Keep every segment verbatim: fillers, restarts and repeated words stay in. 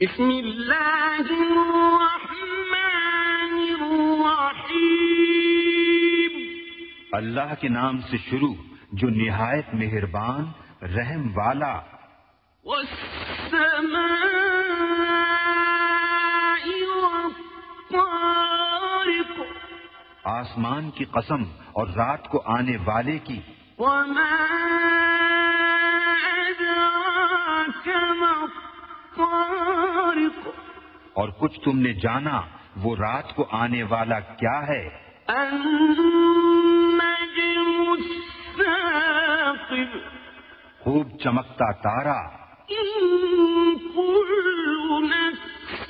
بسم اللہ الرحمن الرحیم، اللہ کے نام سے شروع جو نہایت مہربان رحم والا۔ والسماء والطارق، آسمان کی قسم اور رات کو آنے والے کی۔ وما أدراك ما الطارق، اور کچھ تم نے جانا وہ رات کو آنے والا کیا ہے؟ النجم الثاقب، خوب چمکتا تارا۔ إن كل نفس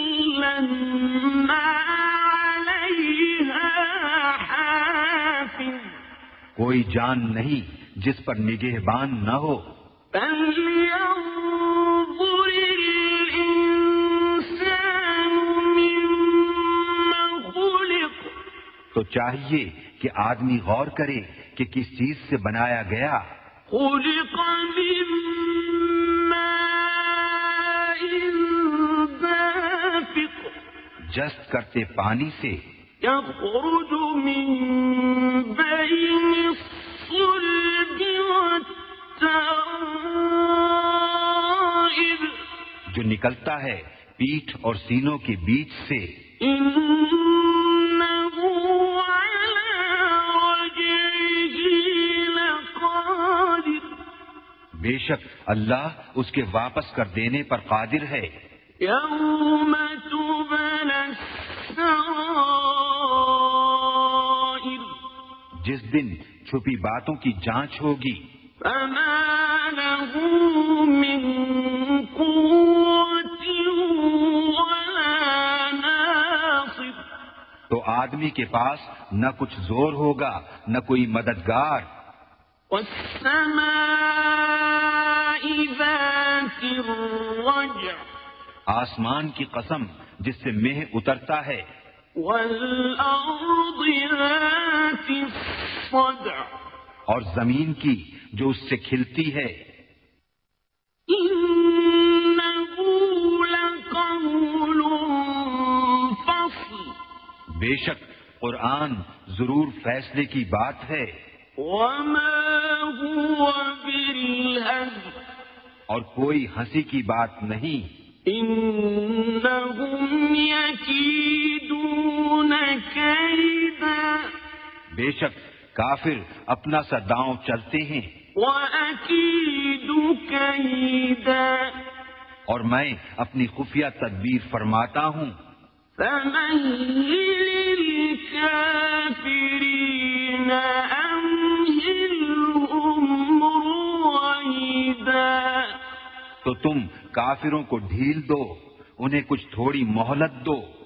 لما عليها حافظ، کوئی جان نہیں جس پر نگہبان نہ ہو۔ فلينظر الإنسان مما خلق، تو چاہیے کہ آدمی غور کرے کہ کس چیز سے بنایا گیا۔ خلق من ماء دافق، جست کرتے پانی سے، يخرج من بين الصلب والترائب، جو نکلتا ہے پیٹھ اور سینوں کے بیچ سے۔ إنه على رجعه لقادر، بے شک اللہ اس کے واپس کر دینے پر قادر ہے۔ يوم تبلى السرائر، جس دن چھپی باتوں کی جانچ ہوگی۔ فما له من قوة ولا ناصر، تو آدمی کے پاس نہ کچھ زور ہوگا نہ کوئی مددگار۔ والسماء ذات الرجع، آسمان کی قسم جس سے مہ اترتا ہے۔ والأرض ذات الصدع، اور زمین کی جو اس سے کھلتی ہے۔ إنه لقول فصل، بے شک قرآن ضرور فیصلے کی بات ہے۔ وما هو بالهزل، اور کوئی ہنسی کی بات نہیں۔ إنهم يكيدون كيدا، بے شک کافر اپنا سا داؤں چلتے ہیں۔ وأكيد كيدا، اور میں اپنی خفیہ تدبیر فرماتا ہوں۔ فمهل الكافرين أمهلهم رويدا، تو تم کافروں کو ڈھیل دو، انہیں کچھ تھوڑی مہلت دو۔